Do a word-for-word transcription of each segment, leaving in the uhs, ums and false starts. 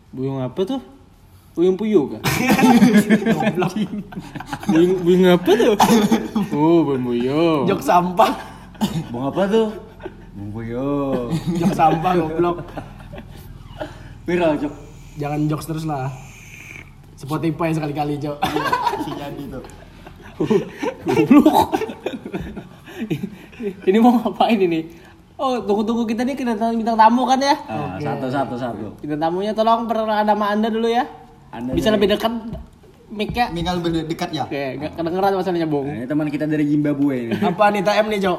Buyung apa tuh? Buyung puyuh kan? buyung, buyung apa tuh? Oh, buyung puyuh. Jok sampah. Bung apa tuh? Bung Puyo. Jok sampah goblok. Viral, Cok. Jangan jokes terus lah. Spotify sekali-kali, Jok. Si jadi tuh. Goblok. Ini mau ngapain ini? Oh, tunggu-tunggu kita nih kedatangan bintang tamu kan ya? Ah, satu satu satu. Bintang tamunya tolong perkenalkan nama Anda dulu ya. Anda Bisa dari- lebih dekat mic-nya. Minggal lebih dekat ya. Oke, enggak kedengeran masalahnya, Bung. Nah, ini teman kita dari Zimbabwe ini. Apa nih T M nih, Jok?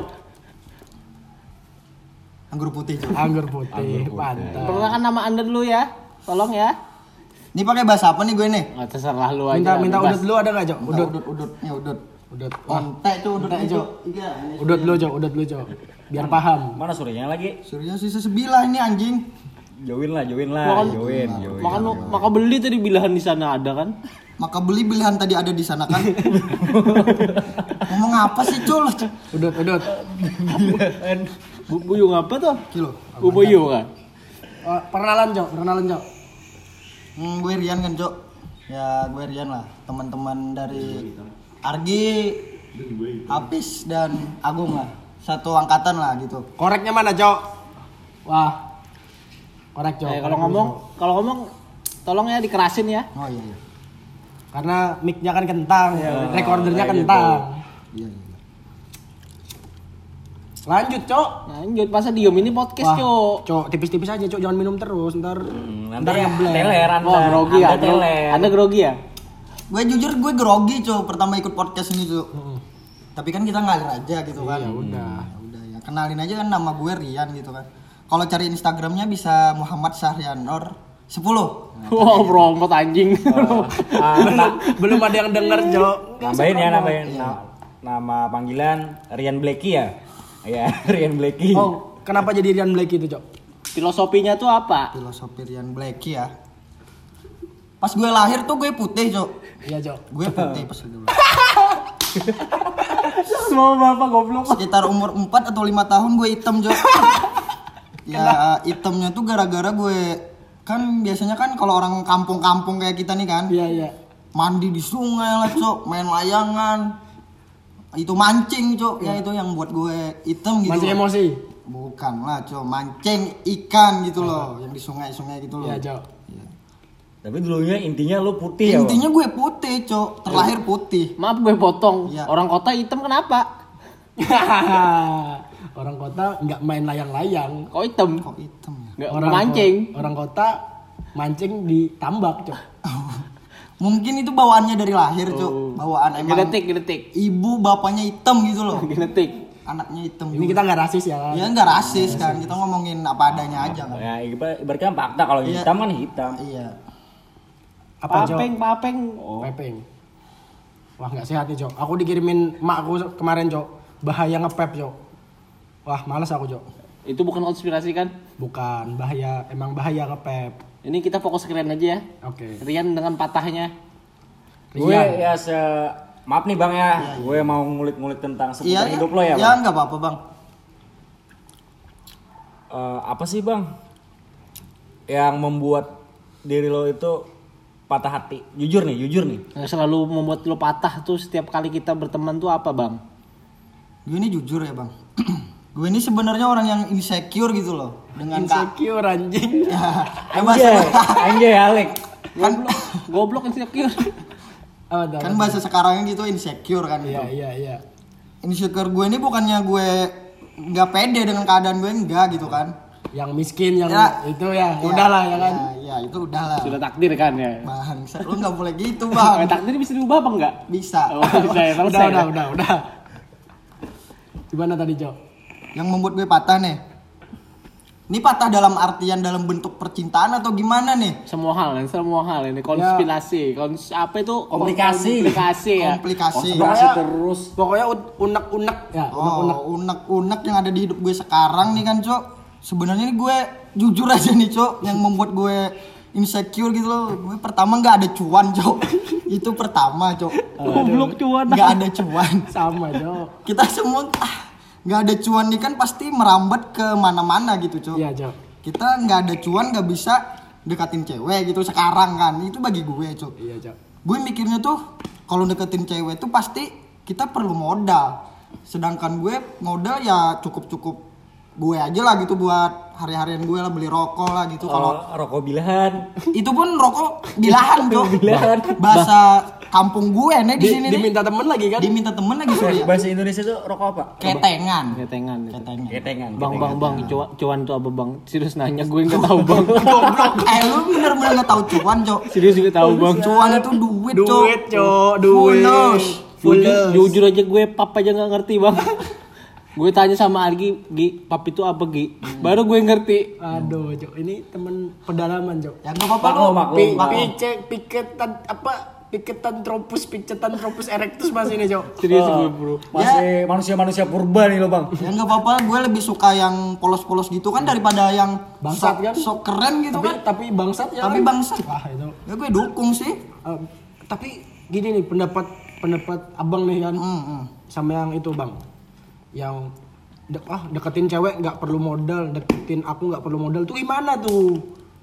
Anggur putih tuh. Anggur putih. Anggur putih. Mantap. Perkenalkan nama Anda dulu ya. Tolong ya. Ini pakai bahasa apa nih gue nih? Enggak terserah lu aja. Minta minta bebas. udut dulu ada enggak, Jok? Udut, Udut. udut, udut, nih udut. Udut. Wah, Ontek tuh udutnya, Ontek, Cok. Cok. udut dulu, Jok. Udut dulu, Jok. Biar paham. Mana surinya lagi? Surya sisa sebilah ini anjing. Join lah, join lah, Makan- join, join. Makan lu, maka beli tadi bilahan di sana ada kan? Maka beli pilihan tadi ada di sana kan. Ngomong apa sih, Cul? Udut, udut. Bu- Buyung apa tuh? Kilo. Bu Buyung kan? Oh, perkenalan, Jok. Perkenalan, Jok. Hmm, gue Rian kan, Cok. Ya, gue Rian lah. Teman-teman dari Argi, Hafiz dan Agung lah. Satu angkatan lah gitu. Koreknya mana, Jok? Wah. Korek, Jok. Eh, kalau Korek ngomong, dulu, Jok. kalau ngomong tolong ya dikerasin ya. Oh iya iya. Karena mic-nya kan kentang, recordernya kayak kentang. Iya iya. Lanjut, Cok. Lanjut, masa diem ini podcast, Wah, Cok. Cok, tipis-tipis aja, Cok. Jangan minum terus, ntar Hmm, ntar nanti ngeblank. teler Anda. Oh, grogi ya. Anda teler. Anda grogi ya? Gue jujur gue grogi, Cok, pertama ikut podcast ini, Cok. Tapi kan kita ngalir aja gitu kan. Ya udah. Ya udah ya. Kenalin aja kan nama gue Rian gitu kan. Kalau cari Instagramnya bisa Muhammad Syahrianor sepuluh. Wow, promote anjing. Ah, na- Belum ada yang denger, Cok. nambahin ya, nambahin. Na- nama panggilan Rian Blacky ya? Iya, Rian Blacky. Oh, kenapa jadi Rian Blacky itu, Cok? Filosofinya tuh apa? Filosofi Rian Blacky ya. Pas gue lahir tuh gue putih, Cok. Iya, Cok. Gue putih pas dulu. Semua bapak goblok. Sekitar umur empat atau lima tahun gue hitam, Cok. Ya hitamnya tuh gara-gara gue kan biasanya kan kalau orang kampung-kampung kayak kita nih kan Iya, iya. mandi di sungai lah, Cok, main layangan, itu mancing, Cok, ya itu yang buat gue hitam gitu. Mancing loh. emosi. Bukan lah, Cok, mancing ikan gitu loh, yang di sungai-sungai gitu loh. Iya, Cok. Iya. Tapi dulunya intinya lu putih ya, Bang? Intinya gue putih, Cok, terlahir putih. Maaf gue potong. Iya. Orang kota hitam kenapa? Orang kota nggak main layang-layang. Kok hitam? Kok hitam ya? Nggak Orang mancing. ko- orang kota mancing di tambak, Cok. Mungkin itu bawaannya dari lahir, Cok. Oh. Bawaan emang Genetik, genetik. ibu bapaknya hitam gitu loh. Genetik. Anaknya hitam. Ini kita nggak rasis ya kan? Ya nggak rasis kan, kita ngomongin apa adanya aja kan. Ya, ibar- ibaratnya fakta kalau Iya. hitam kan hitam. Iya. Apa, Cok? Papeng, papeng. Pepeng. Wah, nggak sehat nih, Cok. Aku dikirimin mak aku kemarin, Cok. Bahaya ngepep, Cok. Wah, malas aku, Cok. Itu bukan konspirasi kan? Bukan, bahaya, emang bahaya ngepep. Ini kita fokus ke Rian aja ya. Oke. Rian dengan patahnya. Gue Rian. ya se maaf nih Bang ya, gue mau ngulik-ngulik tentang seputar Iya, hidup lo ya, ya Bang. nggak apa-apa, Bang. Eh, apa sih Bang yang membuat diri lo itu patah hati? Jujur nih, jujur nih. Yang selalu membuat lo patah tuh setiap kali kita berteman tuh apa, Bang? Gue ini jujur ya, Bang. Gue ini sebenarnya orang yang insecure gitu loh dengan kak. Insecure anjing. Ya, Anjay, bahasa, anjay Alek. kan, Goblok insecure. Oh, dah, kan dah. bahasa sekarangnya gitu insecure kan gitu. Iya, iya, iya. Insecure gue ini bukannya gue nggak pede dengan keadaan gue, enggak gitu kan. Yang miskin, yang Ya. itu ya, Ya, udahlah ya kan. Ya, ya itu udahlah. Sudah takdir kan ya. Bangsa, lu nggak boleh gitu, Eh, Bang. takdir bisa diubah apa enggak? Bisa. Oh, bisa ya, Udah, selesai. udah, ya? udah, udah. Gimana tadi, Cok? Yang membuat gue patah nih. Ini patah dalam artian dalam bentuk percintaan atau gimana nih? Semua hal, kan? Semua hal ini konspirasi, Kons apa itu? Komplikasi. Komplikasi ya. Komplikasi. Konspirasi terus. Pokoknya u- unek-unek ya, unek-unek. Oh, unek-unek yang ada di hidup gue sekarang nih kan, Cok. Sebenarnya nih gue jujur aja nih, Cok, yang membuat gue insecure gitu loh. Gue pertama nggak ada cuan, Cok. Itu pertama, Cok. Goblok cuan. Nggak ada cuan. Sama, Cok. Kita semua ah, nggak ada cuan nih kan pasti merambat ke mana-mana gitu, Cok. Iya, Cok. Kita nggak ada cuan nggak bisa deketin cewek gitu sekarang kan. Itu bagi gue, Cok. Iya, Cok. Gue mikirnya tuh kalau deketin cewek tuh pasti kita perlu modal. Sedangkan gue modal ya cukup-cukup gue aja lah gitu buat hari-harian gue lah, beli rokok lah gitu. Kalau Kalau rokok bilahan. itu pun rokok bilahan, Cok. Bilahan. Bahasa kampung gue nih di, Di, sini nih. diminta temen lagi kan? Diminta temen lagi sorry. Bahasa Indonesia tuh rokok apa? Ketengan. Ketengan. gitu. Ketengan. Ketengan. Bang, bang, bang, cuan, cuan tuh apa bang? Serius nanya, gue nggak tahu bang. Goblok. Eh lu bener-bener nggak tahu cuan, Cok. Serius nggak tahu bang. Cuan itu duit, Cok. Duit, Cok. Duit. Fulus. Jujur, jujur aja gue pap aja nggak ngerti bang. Gue tanya sama Argi, Gi, pap itu apa Gi? Baru gue ngerti. Aduh, Cok. Ini temen pedalaman, Cok. Ya enggak apa-apa Maklum, lu. maklum. Pi- maklum. Picek, piketan apa? Piketan tropus, picetan tropus erectus masih ini, Cok. Serius Oh, gue bro. Masih manusia-manusia purba nih lo bang. Ya enggak apa-apa, gue lebih suka yang polos-polos gitu kan daripada yang Bangsat sok, kan? sok keren gitu Tapi kan. tapi bangsat ya. Tapi kan? bangsat. Wah, itu. Ya gue dukung sih. Eh, tapi gini nih pendapat pendapat abang nih kan Hmm, hmm. sama yang itu bang, yang de- ah deketin cewek nggak perlu modal, deketin aku nggak perlu modal tuh gimana tuh?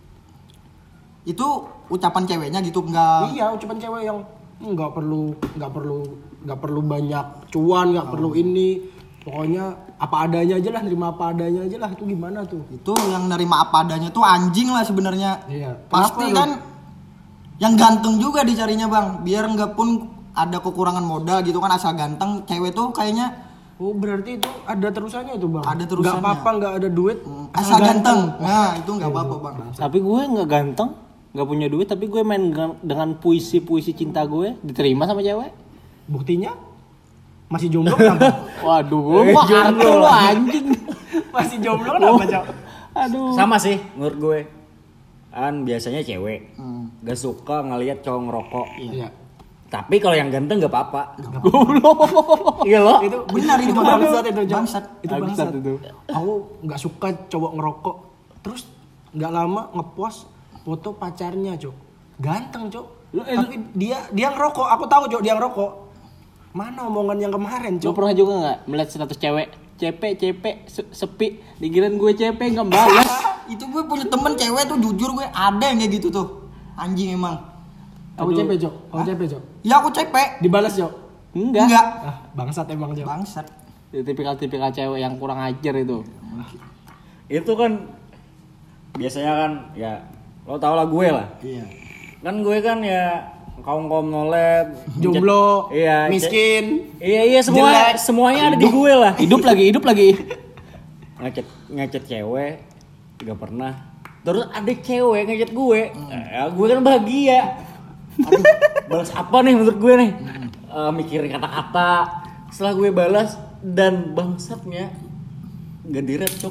Itu ucapan ceweknya gitu enggak. Iya ucapan cewek yang "Hmm, nggak perlu nggak perlu nggak perlu banyak cuan, nggak perlu ini, pokoknya apa adanya aja lah, nerima apa adanya aja lah, itu gimana tuh? Itu yang nerima apa adanya tuh anjing lah sebenarnya. Iya. Pasti Kenapa, kan yang ganteng juga dicarinya bang, biar nggak pun ada kekurangan modal gitu kan, asal ganteng cewek tuh kayaknya Oh berarti itu ada terusannya itu bang? Ada terusannya. Nggak apa-apa nggak ada duit, asal ganteng. Nah itu nggak apa-apa bang. Tapi gue nggak ganteng, nggak punya duit, tapi gue main dengan- dengan puisi-puisi cinta gue diterima sama cewek. Buktinya masih jomblo kenapa? Waduh, gue mah kartu lo anjing. Masih jomblo kenapa cok? Aduh. Sama sih menurut gue. Kan biasanya cewek Hmm. gak suka ngelihat cowok ngerokok. Iya. Tapi kalau yang ganteng gak apa-apa. Goblok. Iya loh. Itu Benar itu, itu Bang. bangsat itu Cok. Bangsat. Itu Bangsat bangsat itu. Aku nggak suka cowok ngerokok. Terus nggak lama ngepost foto pacarnya cok. Ganteng cok. Tapi dia dia ngerokok. Aku tahu cok dia ngerokok. Mana omongan yang kemarin Lo cok? pernah juga nggak melihat status cewek C P C P se- sepi dikirain gue C P nggak balas. Itu gue punya temen cewek tuh jujur gue ada yang kayak gitu tuh. Anjing emang. Aku C P cok. Aku C P cok. Ya aku C P. Dibalas cok. Enggak. Enggak. Ah, bangsat emang cok. Bangsat. Tipikal-tipikal cewek yang kurang ajar itu. Itu kan biasanya kan ya lo tau lah gue lah. Iya. Kan gue kan ya kaum-kaum nolep, Jomblo, iya, miskin. Iya iya semua jelek. semuanya ada di gue lah. Hidup lagi, hidup lagi. Ngechat ngechat cewek gak pernah. Terus ada cewek ngechat gue, ya, gue kan bahagia. Aduh, balas apa nih menurut gue nih? Eh, mikirin kata-kata. Setelah gue balas dan bangsatnya gak direct cok.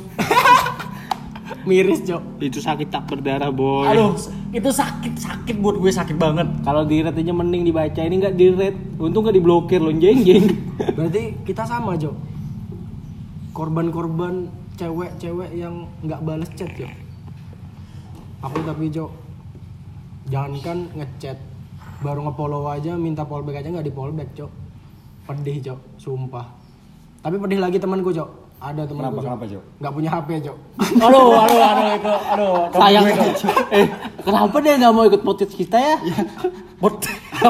Miris cok. Itu sakit tak berdarah boy. Aduh, itu sakit sakit buat gue sakit banget. Kalau di rate aja mending dibaca, ini nggak di rate. Untung nggak diblokir lo jeng jeng. Berarti kita sama cok. Korban-korban cewek-cewek yang nggak balas chat cok. Aku tapi cok. Jangankan ngechat, baru nge-follow aja minta fallback aja nggak di fallback cok. Pedih cok, sumpah. Tapi pedih lagi temanku cok. Ada temanku Kenapa, kenapa, Cok? Nggak punya H P cok. Aduh, aduh, aduh itu, aduh. Sayang. temen gue itu. eh, kenapa dia nggak mau ikut podcast kita ya? Bot-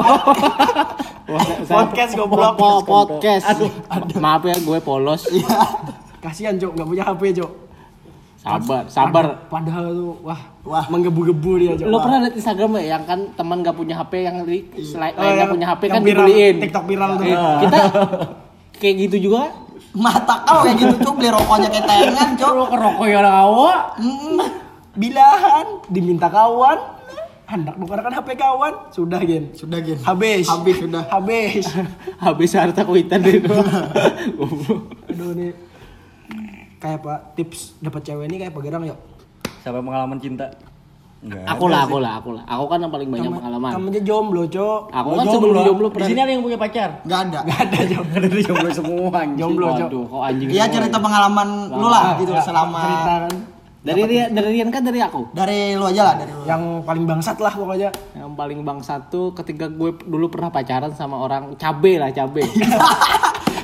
Podcast goblok. Po- podcast. Aduh, maaf ya gue polos. Kasihan cok, nggak punya H P cok. Sabar, sabar. Padahal tuh, wah, Wah. menggebu-gebu dia cok. Lo pernah liat Instagram ya yang kan teman nggak punya H P yang di selain Oh, nggak yang- punya H P yang kan viral, dibeliin. TikTok viral tuh. Eh, kita kayak gitu juga. Mata kau kayak gitu cok, beli rokoknya ketengan cok. Lo kerokok ya awak. Mm. Bilahan, diminta kawan, hendak nukarkan H P kawan, sudah gen. Sudah gen. Habis. Habis sudah. Habis. Habis harta kuitan itu. Aduh nih. Kayak apa? Tips dapat cewek ini kayak apa gerang yuk? Sampai pengalaman cinta. Enggak. Aku lah, aku lah, aku lah. Aku kan yang paling banyak pengalaman. Kamu aja jomblo, Cok. Aku kan sebelum jomblo Di pernah. sini ada yang punya pacar. Enggak ada. Enggak ada, Cok. Ada di jomblo semua. anjing. Jomblo, Cok. Waduh, kok anjing. Iya semua. cerita pengalaman lu lah gitu Ah, selama cerita kan. Dari Rian, dari Rian kan dari aku. dari lu aja lah dari lu. Yang paling bangsat lah pokoknya. Yang paling bang satu ketika gue dulu pernah pacaran sama orang cabe lah cabe.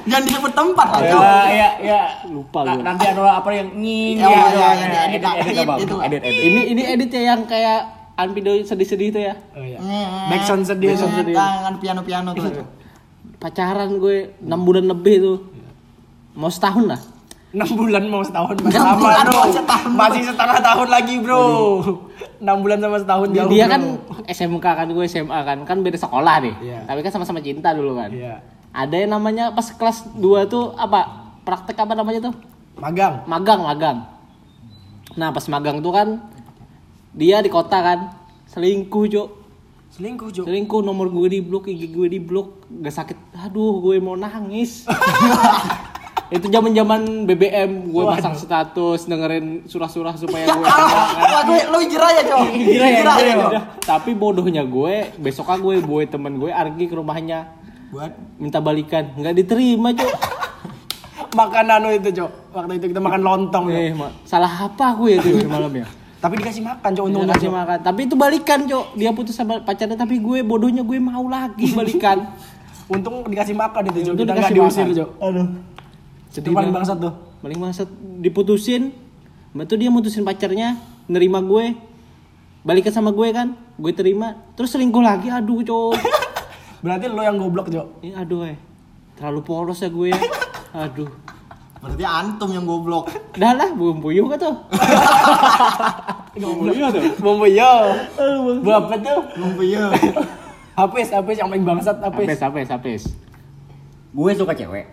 Jangan disebut tempat lah, Cok. Ya, ya, ya. Lupa Nah, gue. nanti ada apa yang nying Ya, gitu. ya, ya, Nah, edit, edit, edit, edit, apa? itu lah. Edit, edit. Ini ini edit ya yang kayak Anpido sedih-sedih itu ya. Oh iya. Nge- Backsound sedih. Backsound sedih. Tangan piano-piano tuh. Pacaran gue enam bulan lebih tuh. Mau setahun lah. enam bulan mau setahun masih enam lama bulan bro. mau setahun. Masih setengah tahun lagi bro. enam bulan sama setahun jauh. Dia bro. kan S M K kan, gue S M A kan, kan beda sekolah nih. Iya. Tapi kan sama-sama cinta dulu kan. Iya. Ada yang namanya pas kelas dua tuh apa? Praktek apa namanya tuh? Magang. Magang, magang. Nah, pas magang tuh kan dia di kota kan, selingkuh, Cok. Selingkuh Jo. Selingkuh, nomor gue di blok, I G gue di blok, gak sakit. Aduh, gue mau nangis. Itu zaman-zaman B B M, gue pasang status dengerin surah-surah supaya gue Wah, gue lu hijrah ya, Cok. Hijrah ya, hijrah ya, Udah. Tapi bodohnya gue, besoknya gue boy temen gue Argi ke rumahnya Buat minta balikan, nggak diterima, Cok. Makan anu itu Jo. Waktu itu kita makan lontong. Jo. Eh, ma- salah apa gue itu malam ya? Tapi dikasih makan Jo Untung untungnya kasih Jo. makan. Tapi itu balikan, Cok. Dia putus sama pacarnya, tapi gue bodohnya gue mau lagi balikan. Untung dikasih makan itu Jo. Untung Kita nggak dikasih diusir makan. Jo. Aduh. Itu paling banget. bangsat tuh. Paling bangsat diputusin. Betul dia mutusin pacarnya, nerima gue. Balikan sama gue kan, gue terima. Terus selingkuh lagi, aduh, Cok. Berarti lo yang goblok Jo. Eh, aduh, eh. Terlalu polos ya gue ya. Aduh. berarti antum yang goblok. Dah lah, belum puyuh kan tuh. Goblok tuh. Bombo yo. Bu apa tuh? Lumpia. Hapis, hapis yang paling bangsat hapis. Apes, apes, apes. Gue suka cewek.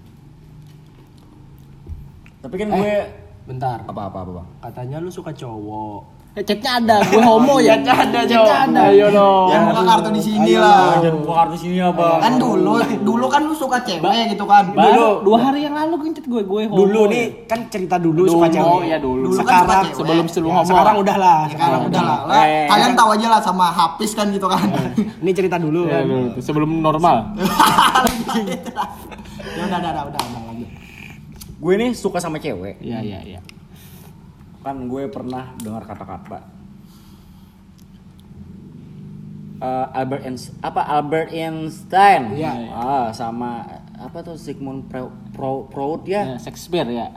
Tapi kan gue Bentar. apa apa apa bang? Katanya lu suka cowok. Eh, chatnya ada, gue homo ya. Chatnya ada, Jo. Chatnya ada. Ayo dong. Yang buka kartu di sini Ayo, lah. Jangan buka kartu sini ya bang. Kan dulu, dulu kan lu suka cewek gitu kan. Baru dua hari yang lalu kan chat gue, gue homo. Dulu ya. nih kan cerita dulu, Dulu, suka cewek. ya dulu. Dulu kan Sekarang suka cewek. sebelum sebelum Ya, homo. sekarang udah lah. Sekarang udah lah. lah. Eh, Kalian tahu aja lah sama Hafiz kan gitu kan. Ini cerita dulu Ya, kan. dulu. Sebelum normal. Ya udah, udah, udah, udah, udah lanjut. Gue nih suka sama cewek. Iya, iya, iya. Kan gue pernah dengar kata-kata eh, Albert Einstein, apa Albert Einstein, Iya. ah, sama apa tuh Sigmund Pro, Pro, Freud ya. Ya, Shakespeare ya.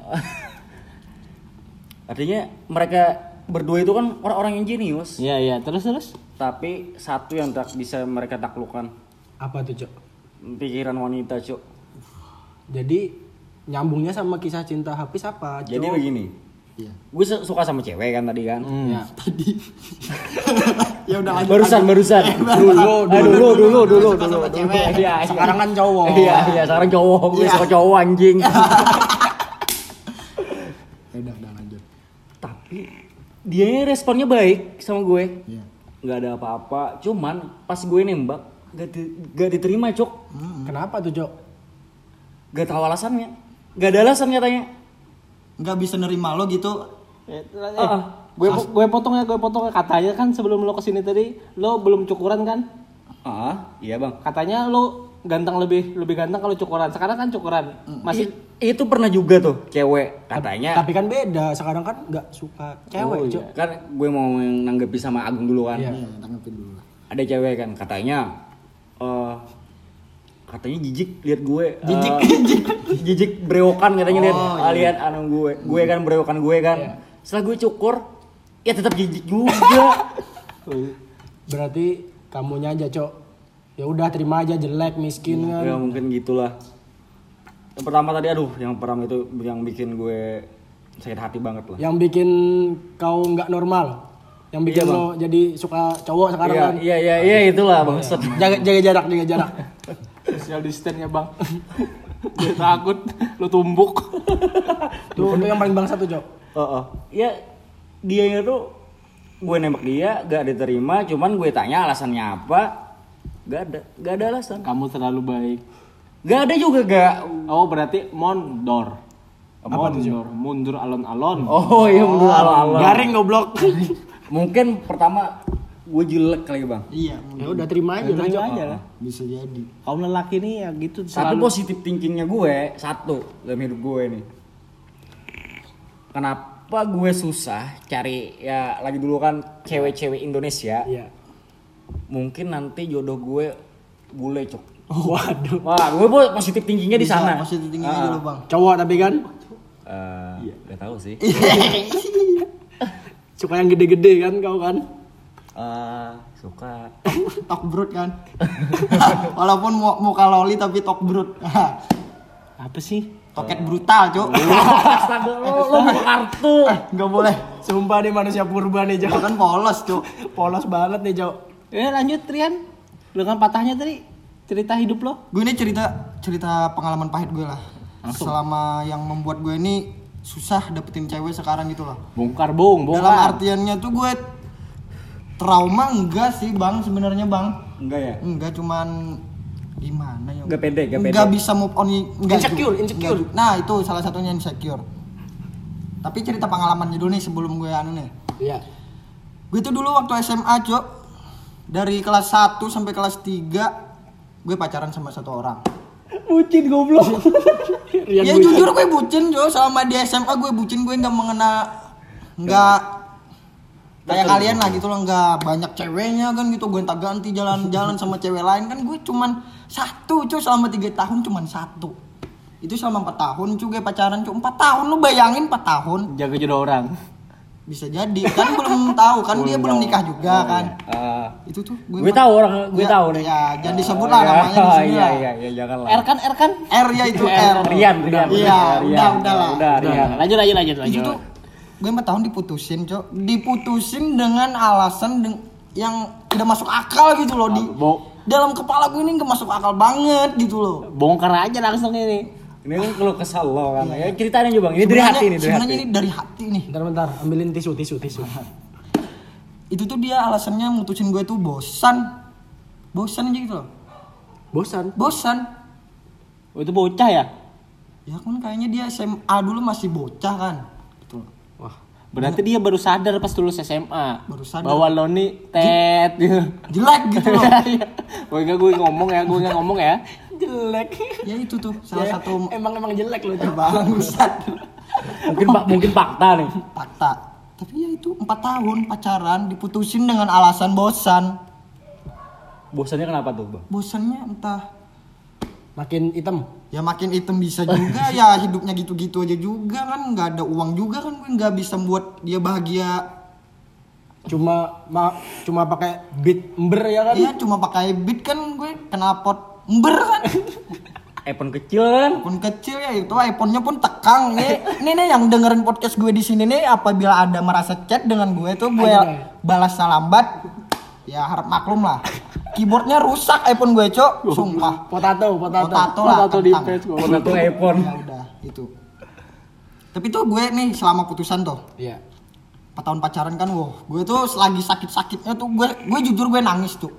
Artinya mereka berdua itu kan orang-orang yang jenius, Iya, iya. Terus terus. tapi satu yang tak bisa mereka taklukkan, Apa tuh, Cok? pikiran wanita, Cuk. Jadi nyambungnya sama kisah cinta Hafiz apa, Cok? Jadi begini, Iya. gue su- suka sama cewek kan tadi kan. Ya. Tadi. Ya udah lanjut. Barusan, lanjut. barusan. Dulu, Ah, dulu, dulu, dulu, Suka dulu. sama cewek. Iya, iya. Sekarang kan cowok. Iya, iya, sekarang cowok, gue Iya. suka cowok anjing. Ya udah, udah lanjut. Tapi dia responnya baik sama gue. Iya. Nggak ada apa-apa, cuman pas gue nembak gak, di- gak diterima, Cok. Kenapa tuh, Cok? Gak tahu alasannya. Gak ada alasan katanya. Nggak bisa nerima lo gitu. Eh, Ah, gue gue potong ya, gue potong ya. Katanya kan sebelum lo kesini tadi, lo belum cukuran kan? Ah, iya bang. Katanya lo ganteng lebih lebih ganteng kalau cukuran. Sekarang kan cukuran. Masih I- itu pernah juga tuh cewek katanya. Tapi kan beda. Sekarang kan nggak suka cewek, Oh, Cok. iya. Kan gue mau nanggepi sama Agung dulu kan. Iya. Iya, tanggepin dulu lah. Ada cewek kan katanya eh katanya jijik lihat gue. Jijik, eh, jijik. Jijik brewokan katanya lihat Oh, ah, lihat anu gue. Gue kan brewokan gue kan. Setelah gue cukur ya tetap jijik juga. Berarti kamunya aja, Cok. Ya udah terima aja jelek, miskin kan. Ya mungkin gitulah. Yang pertama tadi aduh, yang pertama itu yang bikin gue sakit hati banget lah. Yang bikin kau nggak normal. Yang bikin Iya, Bang. lo jadi suka cowok sekarang Iya, kan. iya, iya, iya itulah bangsat. Jaga, jaga jarak, jaga jarak. social distance ya, Bang. Dia takut lo tumbuk. Tuh, itu yang paling bangsa tuh, Cok. Heeh. Ya dia itu gue nembak dia gak diterima, cuman gue tanya alasannya apa. Gak ada, gak ada alasan. Kamu terlalu baik. Gak ada juga gak. Oh, berarti mondor. Mondor, mundur alon-alon. Oh iya menurut alon-alon. Garing goblok. Mungkin pertama gue jelek kali bang. Iya, Ya udah terima aja, Terima lah, Cok. aja lah. bisa jadi. Kaum lelaki nih ya gitu. Satu selalu- positif thinkingnya gue, satu dalam hidup gue nih. Kenapa gue susah cari ya lagi dulu kan cewek-cewek Indonesia. Iya. Mungkin nanti jodoh gue bule, Cok. Oh, waduh. Wah, gue bu- positif tingginya di Bisa sana. positif tinggi aja lo bang. Cowok tapi kan Eh, gak tahu sih. suka yang gede-gede kan kau kan? Eh, suka. Tok brut kan. Walaupun mu- muka loli tapi tok brut. Apa sih? Toket brutal cuk. Astaga, lo, lo buka kartu. Nggak boleh. Sumpah nih manusia purba nih, Itu Cok. kan polos cuk. Polos banget nih, Cok. Ya lanjut Rian. Dengan patahnya tadi cerita hidup lo. Gue ini cerita cerita pengalaman pahit gue lah. Langsung. Selama yang membuat gue ini susah dapetin cewek sekarang gitu loh. Bongkar bong, Dalam bongkar. artiannya tuh gue trauma enggak sih bang sebenarnya bang. Enggak ya? Enggak cuman gimana ya? Enggak pede, enggak pede. Enggak bisa move on. Enggak Insecure, juga. insecure. Enggak juga. Nah itu salah satunya insecure. Tapi cerita pengalamannya dulu nih sebelum gue anu nih. Iya. Gue tuh dulu waktu S M A cok, dari kelas satu sampai kelas tiga gue pacaran sama satu orang. Bucin goblok. Rian Ya gue- jujur gue bucin cok, selama di S M A gue bucin, gue nggak mengena, nggak kayak kalian lah gitu loh, nggak banyak ceweknya kan gitu, gue tak ganti jalan-jalan sama cewek lain kan, gue cuman satu cok selama tiga tahun cuman satu. Itu selama empat tahun juga pacaran cok, empat tahun lu bayangin empat tahun. Jaga jodoh orang. Bisa jadi kan belum tahu kan dia belum nikah juga kan. Eh, Itu tuh gue tahu orang, gue Ya, tahu nih. ya, jangan disebut lah namanya di sini Iya, lah. iya, iya, jangan lah. R kan, R kan? R ya itu R. Rian, Rian. Iya, Rian. udah udah lah. Udah, Udah, Rian. lanjut lanjut lanjut Itu lanjut. tuh gue empat tahun diputusin cok, diputusin dengan alasan deng- yang tidak masuk akal gitu loh di Bo- dalam kepala gue ini nggak masuk akal banget gitu loh. bongkar aja langsung ini. Ini kan kalau kesal lo kan. Ya ceritain aja bang. Ini dari Sebenarnya- hati nih, dari sebenarnya hati. ini dari hati nih. Bentar bentar, ambilin tisu tisu tisu. Itu tuh dia alasannya mutusin gue tuh bosan, bosan aja gitu loh, Bosan. bosan. Oh, itu bocah ya? Ya kan kayaknya dia S M A dulu masih bocah kan, gitu loh. Wah, Berarti dia baru sadar pas lulus S M A. Baru sadar. Bahwa lo nih tet gitu. Jelek gitu loh. Gue enggak gue ngomong ya, gue enggak ngomong ya. jelek. Ya itu tuh salah Ya, satu emang emang jelek loh, Cok. bangsat Mungkin pak, mungkin fakta nih. fakta. Tapi ya itu empat tahun pacaran diputusin dengan alasan bosan. Bosannya kenapa tuh bang? Bosannya entah Makin hitam. ya makin item bisa juga ya, hidupnya gitu-gitu aja juga kan, nggak ada uang juga kan, gue nggak bisa buat dia bahagia. Cuma ma, cuma pakai beat ember ya kan? Iya cuma pakai beat kan, gue kena pot ember kan. iPhone kecil kan? Pun kecil ya itu, iPhone-nya pun tekang nih. Ini nih yang dengerin podcast gue di sini nih, apabila ada merasa chat dengan gue tuh gue Ayo, balas lambat, ya harap maklum lah. Keyboardnya rusak iPhone gue cok, sumpah. Potato, potato. Potato lah, Foto di kentang. page gue. Satu iPhone. Ya udah itu. Tapi tuh gue nih selama putusan tuh Iya. empat tahun pacaran kan, wow, gue tuh lagi sakit-sakitnya tuh gue gue jujur gue nangis tuh.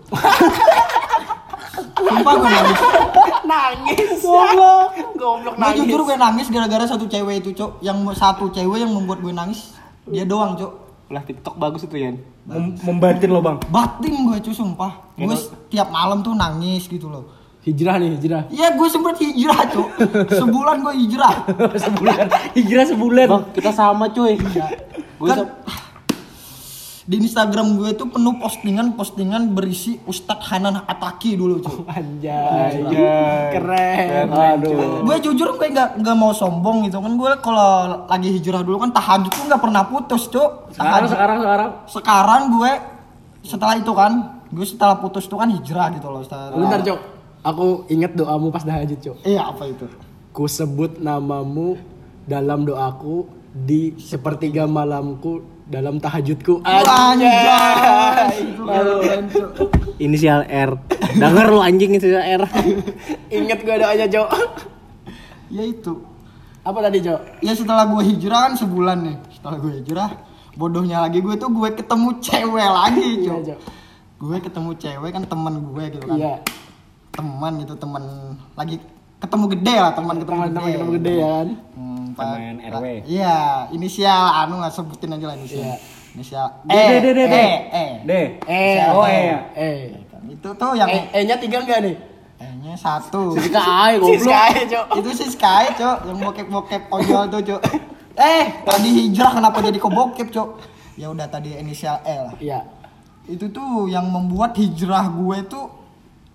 Sumpah gue nangis. Nangis. Goblok. Goblok Gue jujur gue nangis gara-gara satu cewek itu cok, yang satu cewek yang membuat gue nangis, dia doang cok. Lah TikTok bagus itu ya. Mem- membatin lo bang. Batin gue cuy sumpah. Gue tiap malam tuh nangis gitu loh. Hijrah nih, hijrah. Iya gue sempet hijrah cok. Sebulan gue hijrah. Sebulan. Hijrah sebulan. Bang, kita sama cuy. Gue Kan di Instagram gue tuh penuh postingan-postingan berisi Ustadz Hanan Ataki dulu cuy. Anjay. Anjay. Keren. Aduh. Gue jujur gue nggak nggak mau sombong gitu kan, gue kalau lagi hijrah dulu kan tahajud tuh nggak pernah putus cok. Sekarang, Tahajud. sekarang, sekarang. Sekarang gue setelah itu kan, gue setelah putus tuh kan hijrah gitu loh. Setelah, Bentar, Cok. Aku inget doamu pas tahajud, Cok. Iya apa itu? Ku sebut namamu dalam doaku di sepertiga malamku dalam tahajudku. Anjay. Itu keren, Cok. Inisial R. Dengar lu anjing inisial R. Ingat gue doanya, Cok. Ya itu. Apa tadi, Cok? Ya setelah gue hijrah kan sebulan nih. Setelah gue hijrah, bodohnya lagi gue tuh gue ketemu cewek lagi, Iya, Cok. Cok. Gue ketemu cewek kan, teman gue gitu kan. Iya. Teman gitu, teman lagi ketemu gede lah, teman ketemu Teman-teman gede. ketemu gede ya kan? Hmm, Teman Pak- R W. Iya, inisial anu nggak sebutin aja lah inisial. Iya. Inisial D, D, D, D, D. E, E. D. Eh, Oh, E. Eh. Itu tuh yang Eh, E-nya tiga enggak nih? E-nya satu. Kita ay Si goblok. Sky, Cok. Itu sih Sky, Cok, yang bokep-bokep ojol tuh, Cok. Eh, tadi hijrah kenapa jadi ke bokep, Cok? Ya udah tadi inisial E lah. Iya. Itu tuh yang membuat hijrah gue tuh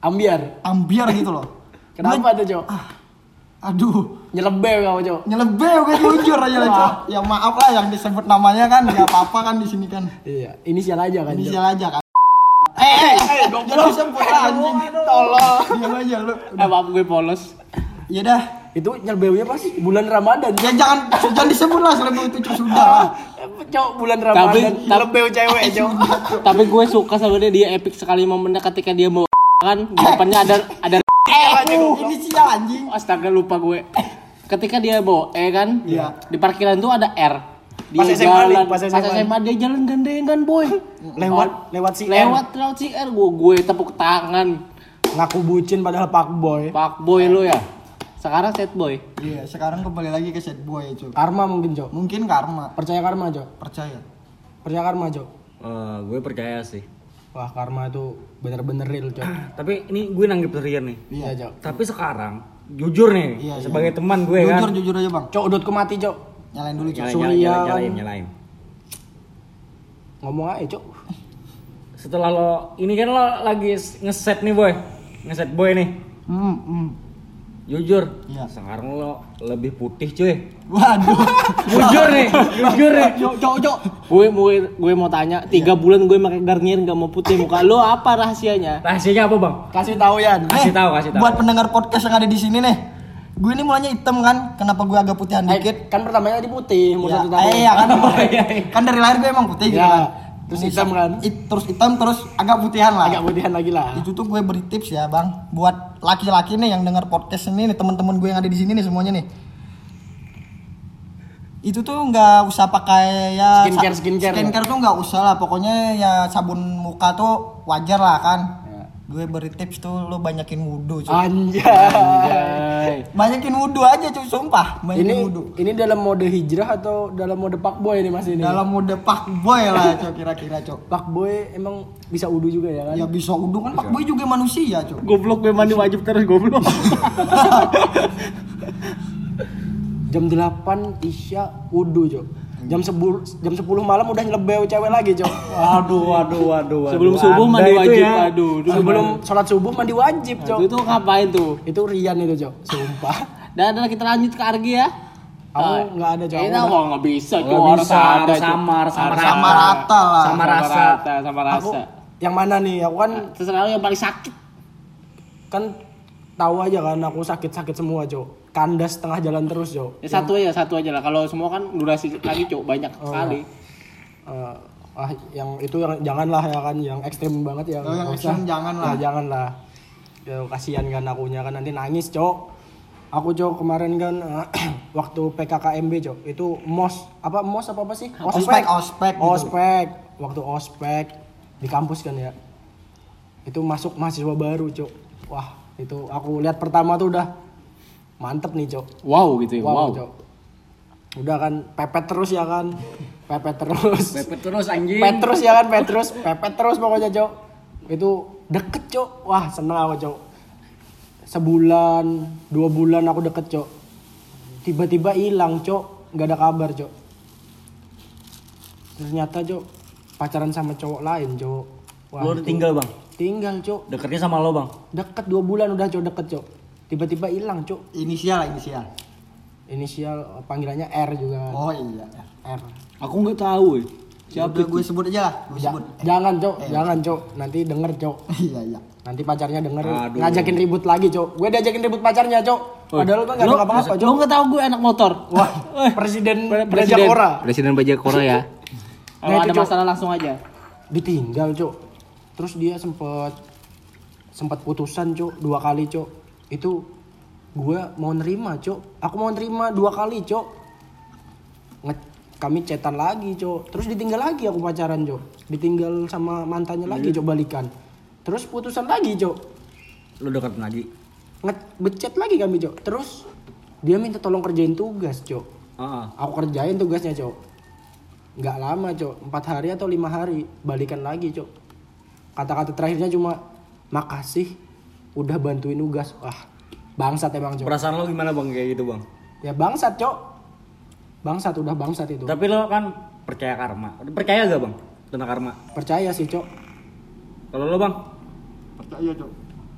Ambiar. ambiar gitu loh. Kenapa tuh, Cok? Aduh, Nyelebel kau, Cok. nyelebel gue jujur aja lah, Cok. Ya maaf lah yang disebut namanya kan, enggak apa-apa kan di sini kan. Iya, inisial aja kan. Cok. Inisial aja kan. Eh, eh, jangan disebut lah, anjing. Tolong. Diam aja lu. Eh maaf gue polos. Ya dah. Itu nyelebelnya pas bulan Ramadan. Ya jangan jangan disebut lah selebel itu Cok, sudah lah. Cok, bulan Ramadan Tapi- nyelebel cewek, Cok. Tapi gue suka sama dia, dia epic sekali momennya ketika dia mau kan di depannya ada ada Uh, inisial anjing. astaga lupa gue. Ketika dia bawa E kan, Iya. di parkiran tuh ada R. Dia Pas S M A nih, jalan, pas pas S M A. S M A dia jalan gandengan boy. Lewat lewat si R. lewat lewat si R, gue gue tepuk tangan. Ngaku bucin padahal pak boy. Pak boy lu ya. Sekarang set boy. Iya, sekarang kembali lagi ke sad boy, Cok. Karma mungkin, Cok. Mungkin karma, Percaya karma, Cok. percaya. Percaya karma, Cok. Eh, gue percaya sih. Wah, karma itu bener-bener real, Cok. Tapi ini gue nanggep serian nih. Iya, Cok. Tapi sekarang jujur nih, Iya, sebagai iya. teman gue Jujur kan. jujur aja, Bang. Cok, udutku mati, Cok. Nyalain dulu, Cok. Nyalain, Surya nyalain, kan. nyalain, nyalain. Ngomong aja, Cok. Setelah lo ini kan lo lagi ngeset nih boy, ngeset boy nih. Hmm, hmm. Jujur, Iya. sekarang lo lebih putih cuy. Waduh. Jujur nih, jujur nih. Cok, Cok, Cok. Gue gue gue mau tanya, tiga bulan gue pakai Garnier nggak mau putih muka lo, apa rahasianya? Rahasianya apa bang? Kasih tahu Yan. Kasih Eh, tahu, kasih tahu. Buat pendengar podcast yang ada di sini nih. Gue ini mulanya hitam kan, kenapa gue agak putihan Eh, dikit? kan pertamanya di putih, umur Ya, satu tahun. eh, iya kan. Oh, iya, iya. Kan dari lahir gue emang putih gitu Ya, kan. terus Ini hitam sam- kan? it- terus hitam terus agak putihan lah. Agak putihan lagi lah. Itu tuh gue beri tips ya, Bang. Buat laki-laki nih yang dengar podcast ini nih, teman-teman gue yang ada di sini nih semuanya nih. Itu tuh nggak usah pakai ya Skincare, sa- skincare skincare tuh nggak usah lah, pokoknya ya sabun muka tuh wajar lah kan. Gue beri tips tuh lo banyakin wudhu, cuy. Anjay. Anjay. Banyakin wudhu aja, cuy, sumpah. Banyakin Ini wudhu. ini dalam mode hijrah atau dalam mode pak boy nih Mas ini? Dalam mode pak boy lah, cuy, kira-kira, cuy. Pak boy emang bisa udu juga ya kan? Ya bisa wudhu kan, pak boy juga manusia, cuy. Goblok gue mandi wajib terus goblok. Jam delapan Isya udu, Cok. Jam sepuluh jam sepuluh malam udah nyelebeu cewek lagi, Cok. Waduh, waduh, waduh, waduh. Sebelum subuh Anda mandi itu wajib, ya. aduh. dulu Sebelum gimana? sholat subuh mandi wajib, Cok. Itu, itu ngapain tuh? Itu Rian itu, Cok. Sumpah. Dan dan kita lanjut ke Argi ya. Aku nggak ada, Cok. Ini Aku kok nggak bisa, Nggak Cok. Harus bisa, ada, harus Cok. samar, sama Harus rata. Sama rata lah. Sama rasa. rata, sama Aku rasa. yang mana nih? Aku kan Terserah lo yang paling sakit. kan tahu aja kan aku sakit-sakit semua, Cok. Kandas tengah jalan terus, Cok. Ya satu aja, satu aja lah. Kalau semua kan durasi lagi, Cok, banyak Oh. sekali. Eh, ah yang itu yang janganlah ya kan, yang ekstrim banget ya. Oh, yang nggak ekstrim usah. jangan lah. Ya, jangan lah. Ya kasihan kan akunya kan nanti nangis, Cok. Aku, Cok, kemarin kan eh, waktu P K K M B, Cok. Itu mos apa mos apa apa sih? Ospek, ospek gitu. Ospek. Waktu ospek di kampus kan ya. Itu masuk mahasiswa baru, Cok. Wah, itu aku lihat pertama tuh udah mantep nih, Cok. Wow gitu ya, wow. Wow, Cok. Udah kan pepet terus ya kan. Pepet terus. Pepet terus anjing. Pepet terus ya kan, pepet terus, pepet terus pokoknya, Cok. Itu deket, Cok. Wah, seneng aku, Cok. Sebulan, dua bulan aku deket, Cok. Tiba-tiba hilang, Cok. Gak ada kabar, Cok. Ternyata, Cok, pacaran sama cowok lain, Cok. Wah, Lo itu- udah tinggal bang. Tinggal, Cok. Deketnya sama lo bang. Deket dua bulan udah, Cok, deket, Cok. Tiba-tiba hilang, Cok. Inisial lah, inisial. Inisial panggilannya R juga. Oh iya. R. Aku nggak tahu. Ya. Siapa Siapa gue sebut aja lah, gue Ja- sebut. jangan, Cok, jangan, Cok. Nanti denger, Cok. Iya, iya. Nanti pacarnya denger Aduh. ngajakin ribut lagi, Cok. Gue diajakin ribut pacarnya, Cok. Padahal gue gak ada Lo- apa-apa, Lo Cok. nggak tahu gue anak motor. Wah, presiden Presiden Brajakora Presiden Brajakora ya. Kalau Nah, ada itu, Cok. masalah langsung aja. ditinggal, Cok. Terus dia sempet sempat putusan, Cok, dua kali, Cok. Itu gue mau nerima, Cok. Aku mau nerima dua kali, Cok. Nge- kami chatan lagi, Cok. Terus ditinggal lagi aku pacaran, Cok. Ditinggal sama mantannya lagi, Cok, balikan. Terus putusan lagi, Cok. Lo deketin lagi. Nge-becet lagi kami, Cok. Terus dia minta tolong kerjain tugas, Cok. Heeh. Aku kerjain tugasnya, Cok. Nggak lama, Cok. Empat hari atau lima hari balikan lagi, Cok. Kata-kata terakhirnya cuma makasih udah bantuin tugas. Wah, bangsat emang, Cok. Perasaan lo gimana bang kayak gitu bang? Ya bangsat, Cok. Bangsat, udah bangsat itu. Tapi lo kan percaya karma. Percaya gak bang tentang karma? Percaya sih, Cok. Kalau lo bang? Percaya, Cok.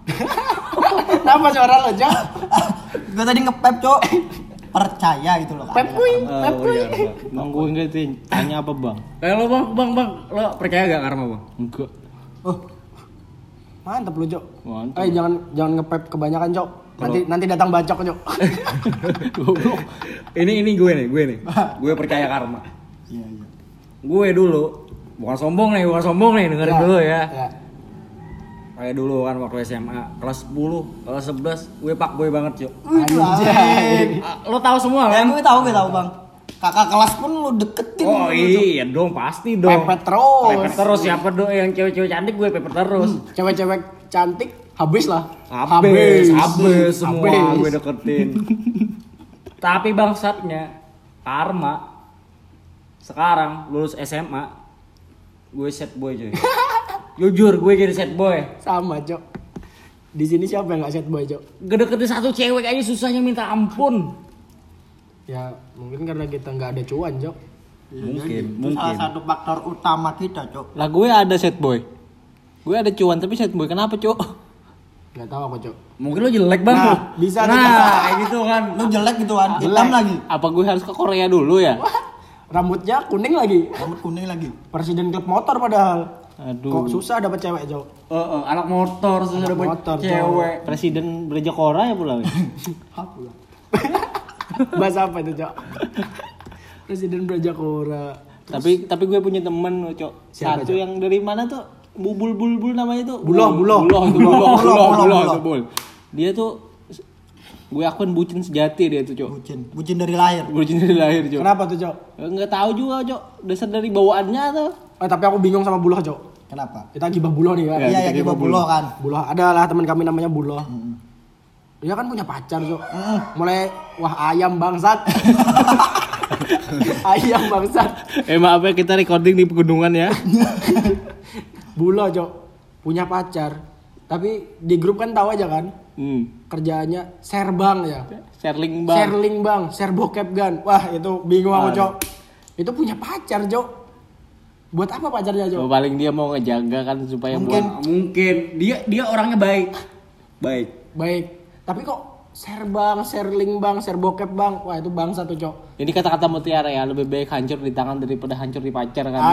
Kenapa suara lo, Cok? Gue tadi ngepep, Cok. Percaya gitu loh. Pep kuy, Oh, pep kuy. iya, Bang. Bang gue enggak tanya apa bang? Kayak lo bang, bang, bang, lo percaya gak karma bang? Enggak. Oh. Mantap lu, Cok. Mantap. Eh, jangan jangan ngepep kebanyakan, Cok. Nanti nanti datang bacok, Cok. Goblok. Ini ini gue nih, gue nih. Gue percaya karma. Iya, iya. Gue dulu, bukan sombong nih, bukan sombong nih, dengerin Ya, dulu ya. Ya. Kayak dulu kan waktu S M A, kelas sepuluh, kelas sebelas, gue pak gue banget cuy. Anjay. Lo tahu semua Ya, kan? gue tahu, gue tahu, Bang. Kakak kelas pun lu deketin. Oh lu, Cok. iya dong, pasti dong. Pepet terus. Pepet terus siapa dong yang cewek-cewek cantik gue pepet terus. Cewek-cewek cantik habis lah. Habis, habis semua Habis. gue deketin. Tapi bangsatnya karma sekarang lulus S M A gue set boy cuy. Jujur gue jadi set boy. Sama, Cok. Di sini siapa yang gak set boy, Cok? Gedeketin satu cewek aja susahnya minta ampun. Ya, mungkin karena kita nggak ada cuan, Cok. Mungkin, Itu mungkin. salah satu faktor utama kita, Cok. Lah gue ada set boy. Gue ada cuan tapi set boy kenapa cuk? Nggak tahu aku, Cok. Mungkin lo jelek bang. Nah, bisa, Nah, bisa. kayak gitu kan. Lu jelek gitu kan, Jelek. hitam lagi. Apa gue harus ke Korea dulu ya? Rambutnya kuning lagi. Rambut kuning lagi. Presiden klub motor padahal. Aduh. Kok susah dapat cewek, Cok? Eh, eh, anak motor susah Anak dapet motor, cewek. Presiden Gereja Kora ya pula. Bahasa apa itu, Cok? Presiden Brajakora. Tapi tapi gue punya temen cok. Siapa, Satu Cok? yang dari mana tuh? Bubul bulbul namanya tuh. Buloh, Buloh, buloh. buloh, itu buloh, Buloh, buloh, buloh, buloh, buloh. itu buloh. Dia tuh gue akuin bucin sejati dia tuh cok. Bucin, bucin dari lahir. Bucin dari lahir cok. Kenapa tuh, Cok? Enggak tahu juga cok. Dasar dari bawaannya tuh. Eh, tapi aku bingung sama Buloh, Cok. Kenapa? Kita gibah Buloh nih kan. Ya, Iya, ya kita kita gibah bulo kan. Buloh adalah teman kami namanya Buloh. Dia kan punya pacar, Cok. Mulai wah ayam bangsat. Ayam bangsat. Eh maaf ya kita recording di pegunungan ya. Buloh, Cok. Punya pacar. Tapi di grup kan tahu aja kan. Hmm. Kerjaannya share bang ya. Sharing bang. Share link bang, share bokep gan. Wah, itu bingung aku, Aduh. Cok. Itu punya pacar, Cok. Buat apa pacarnya, Cok? Oh, paling dia mau ngejaga kan supaya Mungkin. buat Mungkin dia dia orangnya baik. Baik. Baik. Tapi kok share bang, share link bang, share bokep bang. Wah, itu bangsa tuh, Cok. ini kata-kata mutiara ya, lebih baik hancur di tangan daripada hancur di pacar kan.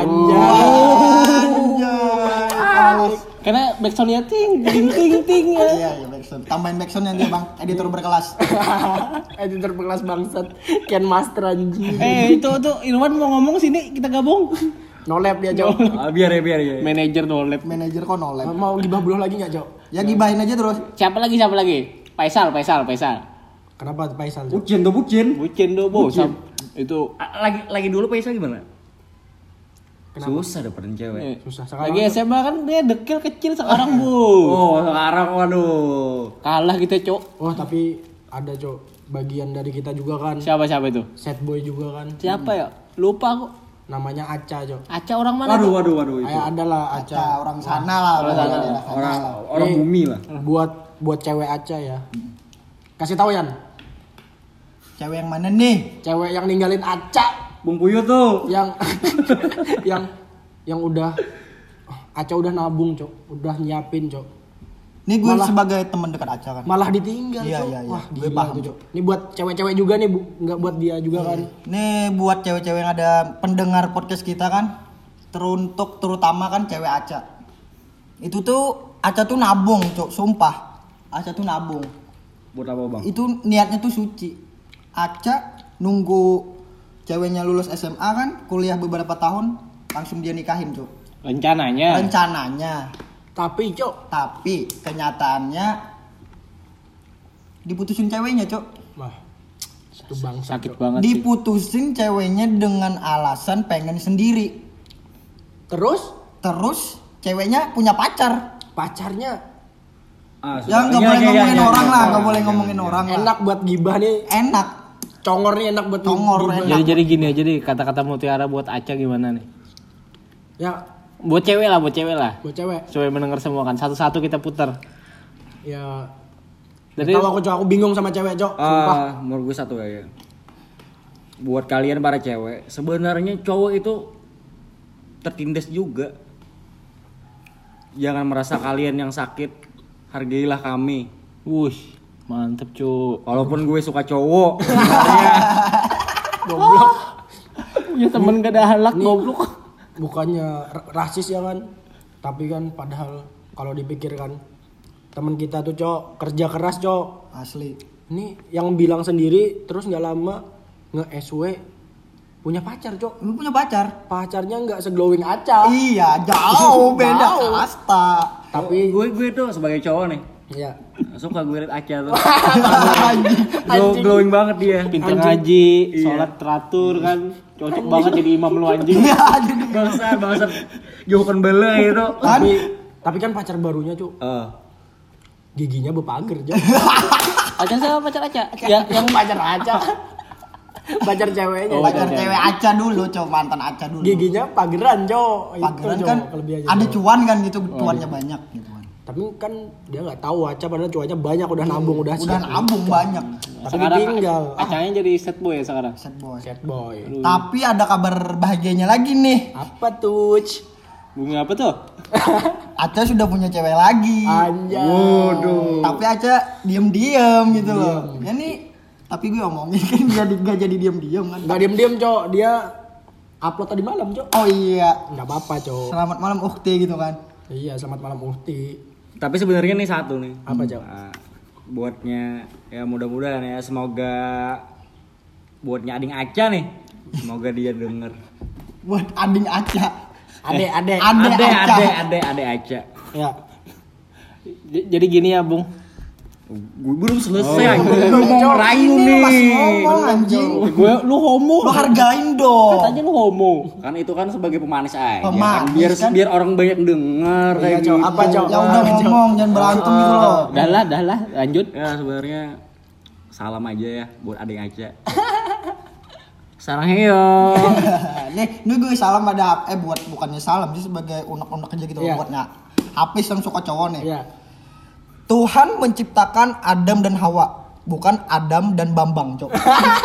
Anjay. Anjay. Karena backsoundnya ting ting ting ting ya. Iya, iya backsound. Tambahin backsound yang dia, Bang. Editor berkelas. Editor berkelas bangsat. Ken Master anjing. Eh itu tuh Irwan mau ngomong sini kita gabung. No lab dia, Cok. Ah, biar ya biar ya. Manajer no lab. Manajer kok nolep. Mau gibah Buloh lagi enggak, Cok? Ya gibahin aja terus. Siapa lagi siapa lagi? Faisal, Faisal, Faisal. Kenapa tuh Faisal, Cok? Bucin tuh bucin. Bucin do bos. Itu Ah, Lagi lagi dulu Paisa gimana? Kenapa? Susah dapetin cewek. eh, Susah sekarang. lagi S M A kan dia dekil kecil sekarang bu. Oh, sekarang waduh. Kalah kita cok. Oh, tapi ada, Cok. Bagian dari kita juga kan. Siapa siapa itu? Set boy juga kan. Siapa ya? Lupa aku. Namanya Aca, Cok. Aca orang mana? Waduh tuh? waduh waduh itu. Kayak adalah Aca. Aca orang sana lah. Orang pokoknya sana. daerah sana. Orang orang Nih, bumi lah. Buat buat cewek Aca ya. Kasih tahu Yan. Cewek yang mana nih? Cewek yang ninggalin Aca Bung Puyuh tuh. yang yang yang udah Aca udah nabung, Cok. Udah nyiapin, Cok. Nih gue Malah- sebagai teman dekat Aca kan. Malah ditinggal, Iya, Cok. iya, iya. Wah, Gue gila paham, tuh, Cok. Ini buat cewek-cewek juga nih, Bu. Enggak buat dia juga kan. Nih buat cewek-cewek yang ada pendengar podcast kita kan, teruntuk terutama kan cewek Aca. Itu tuh Aca tuh nabung, Cok, sumpah. Aca tuh nabung. Buat apa bang? Itu niatnya tuh suci. Aca nunggu ceweknya lulus S M A kan, kuliah beberapa tahun, langsung dia nikahin, Cok. Rencananya. Rencananya. Tapi, Cok, Tapi kenyataannya diputusin ceweknya, Cok. wah. Itu bangsa. Sakit Cok. banget sih. Diputusin ceweknya dengan alasan pengen sendiri. Terus Terus ceweknya punya pacar. pacarnya Ah, Ya nggak Iya, boleh iya, ngomongin iya, orang iya, lah, iya, nggak iya, boleh iya, ngomongin iya. orang lah. enak buat gibah nih. Enak. Congor nih enak buat Congor, gibah. enak. Jadi jadi gini aja deh kata-kata mutiara buat Aca gimana nih? Ya, Buat cewek lah, buat cewek lah. buat cewek. Supaya mendengar semua kan. Satu-satu kita putar. Ya, Jadi tahu aku, Cok, aku bingung sama cewek, Cok. Sumpah. Ah, menurut gue satu ya. Buat kalian para cewek, sebenarnya cowok itu tertindas juga. Jangan merasa kalian yang sakit hargailah kami. Wuih, mantep cu. Walaupun gue suka cowok. Goblok. Ya temen gak ada halak goblok. Bukannya ra- rasis ya kan, tapi kan padahal kalau dipikirkan teman kita tuh cok kerja keras cok. Asli. Ini yang bilang sendiri terus nggak lama nge-S W punya pacar cok. Lu punya pacar? Pacarnya nggak seglowing Aca. Iya, jauh beda Jauh. kasta. Tapi gue gue tuh sebagai cowok nih Iya. suka gue liat Aca tuh. Glow, glowing banget dia. Pinter ngaji, sholat teratur kan. Cocok banget jadi imam lu anjing. Bangsa bangsa jauhkan bela itu. Tapi tapi kan pacar barunya cok Eh, giginya bepager cok. Acan sama pacar Aca. Ya yang pacar Aca. Pacar ceweknya. Pacar cewek Aca dulu, cowok mantan Aca dulu. Giginya pageran cok. Pageran Cok, kan kelebihannya, ada Cok. cuan kan gitu, cuannya banyak gitu kan. Tapi kan dia nggak tahu Aca padahal cuannya banyak udah nabung udah Udah siap. nabung banyak. Tapi sekarang ditinggal. Acanya jadi set boy ya sekarang. Set boy. Sad boy. Tapi ada kabar bahagianya lagi nih. Apa tuh? Bunga apa tuh? Aca sudah punya cewek lagi. Anjay. waduh. Tapi Aca diem-diem gitu loh. Ya nih, tapi gue omongin kan dia di- nggak jadi diem-diem kan. Nggak diem-diem cok, dia upload tadi malam cok. Oh iya, Nggak apa-apa cok. selamat malam Ukti gitu kan. Iya selamat malam Uhti. Tapi sebenarnya nih satu nih. Apa cok? Nah, buatnya ya mudah-mudahan ya semoga buatnya ading Aca nih. Semoga dia denger. Buat ading Aca. Ade ade. Ade Ade Aca. ade ade ade Aca. Ya. J- Jadi gini ya, Bung. Gue belum selesai Oh. anjing. Lu mau ngerayu Ini nih. masih ngomong anjing. Gue lu homo. Lu hargain dong. Katanya lu homo. Kan itu kan sebagai pemanis aja. Pemanis, kan. Biar kan? biar orang banyak denger Iya, kayak Cok. gitu. Apa, Cok? Ya udah ngomong, jangan berantem gitu loh. Dah lah, dah lah, lanjut. Ya sebenarnya salam aja ya buat ading Aca. Sarang heyo. Nih, ini gue salam ada eh buat bukannya salam sih sebagai unek-unek aja gitu Iya. buatnya. Hafiz yang suka cowok nih. Iya. Tuhan menciptakan Adam dan Hawa, bukan Adam dan Bambang, Cok.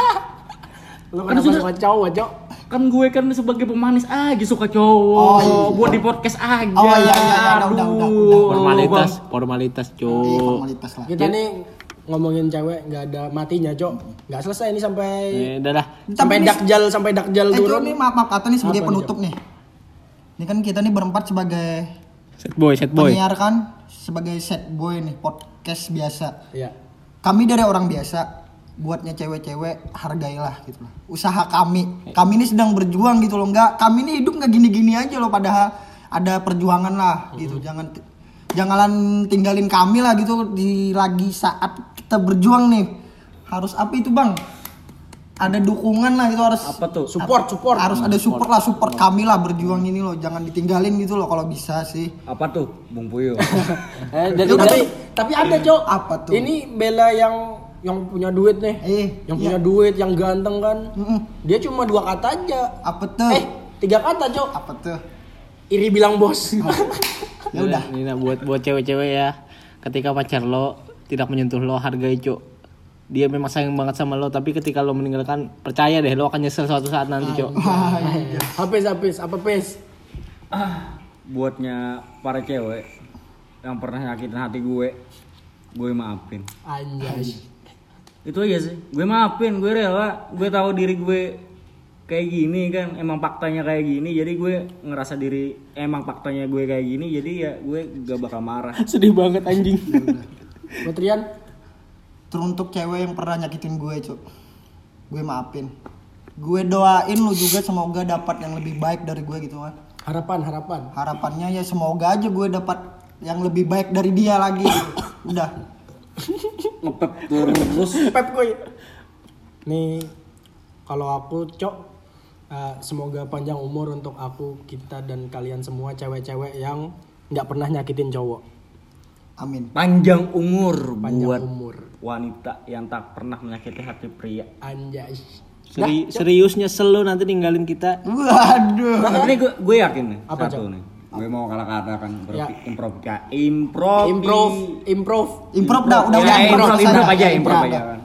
Lu Kan kenapa sudah- suka cowok cok? Kan gue kan sebagai pemanis aja suka cowok. Oh, iya. Buat di podcast aja. Oh, iya, iya, iya, udah, udah, udah, udah. Formalitas, formalitas, Iya, Cuk. formalitas lah. Kita nih ngomongin cewek nggak ada matinya cok. Nggak selesai nih sampai Eh, dah lah. sampai Tapi ini- dakjal sampai dakjal Eh, Cok, turun. nih maaf maaf kata nih sebagai Apa nih, penutup nih. Ini kan kita nih berempat sebagai Set boy, set boy. penyiar kan, sebagai set boy nih, podcast biasa. Iya. Kami dari orang biasa, buatnya cewek-cewek hargailah gitu loh. Usaha kami, kami ini sedang berjuang gitu loh. Enggak, kami ini hidup nggak gini-gini aja loh, padahal ada perjuangan lah gitu. Jangan jangan tinggalin kami lah gitu di lagi saat kita berjuang nih. Harus apa itu, Bang? Ada dukungan lah itu harus Apa tuh? Support, support. harus ada support lah, support kami lah berjuang ini loh. Jangan ditinggalin gitu loh kalau bisa sih. Apa tuh? Bung Puyo. Eh, jadi tapi tapi ada cok. Apa tuh? Ini Bella yang yang punya duit nih. Eh, yang iya. punya duit, yang ganteng kan. Mm-mm. Dia cuma dua kata aja. Apa tuh? Eh, tiga kata cok. Apa tuh? Iri bilang bos. Ya udah. Ini nah, buat buat cewek-cewek ya. Ketika pacar lo tidak menyentuh lo, hargai, Cuk. Dia memang sayang banget sama lo, tapi ketika lo meninggalkan, percaya deh lo akan nyesel suatu saat nanti, Cuk. Habis habis apa pes? Buatnya para cewek yang pernah nyakitin hati gue, gue maafin. Anjay. Itu aja sih. Gue maafin, gue rela. Gue tahu diri gue kayak gini kan, emang faktanya kayak gini. Jadi gue ngerasa diri emang faktanya gue kayak gini. Jadi ya gue gak bakal marah. Sedih banget anjing. Buat Rian, Teruntuk cewek yang pernah nyakitin gue, Cuk. Gue maafin. Gue doain lu juga semoga dapat yang lebih baik dari gue gitu kan. harapan harapan. Harapannya ya semoga aja gue dapat yang lebih baik dari dia lagi gitu. Udah. Ngepep terus. Pep gue. Nih kalau aku cok eh, semoga panjang umur untuk aku, kita dan kalian semua cewek-cewek yang nggak pernah nyakitin cowok. Amin. Panjang umur Panjang buat umur. wanita yang tak pernah menyakiti hati pria. Anjay. Seri- serius nyesel lo nanti ninggalin kita. Waduh. Nah, ini gue, gue yakin nih Apa, satu Cok? nih. Gue mau kalah kata kan Ya. improv improv Improve, improve. Improv dah, udah ya, udah improv, selesai. improv aja, Ya, improv udah. aja kan.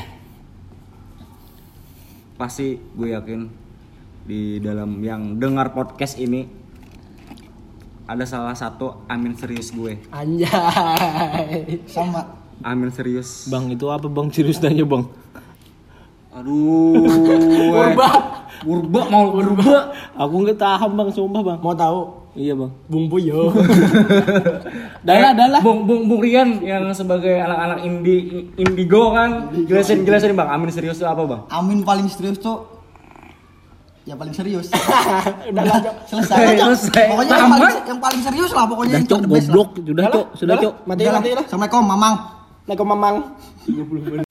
Pasti gue yakin di dalam yang dengar podcast ini ada salah satu amin serius gue. Anjay. Sama. Amin serius. Bang, itu apa bang? Serius nanya bang. Aduh. Purba. Purba mau purba. Aku nggak tahan bang, sumpah bang. Mau tahu? Iya bang. Bung Puyo. Dahlah, dahlah. Bung Bung Bung Rian yang sebagai anak-anak indi indigo kan. Jelasin jelasin Bang, amin serius itu apa Bang? Amin paling serius tuh ya paling serius. Udah lah, Cok. Selesai. Eh, Cok. selesai. Pokoknya yang Tamat. paling, yang paling serius lah pokoknya Sudah yang cok, the best lah. goblok. Sudah cok, sudah Udah lah, cok. Mati Udah lah. mati lah. Assalamualaikum Mamang. Assalamualaikum Mamang.